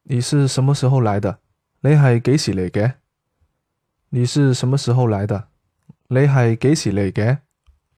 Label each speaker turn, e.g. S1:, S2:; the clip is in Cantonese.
S1: 你是什么时候來的？你係幾時嚟嘅？你是什麼時候來的？你係幾時嚟嘅？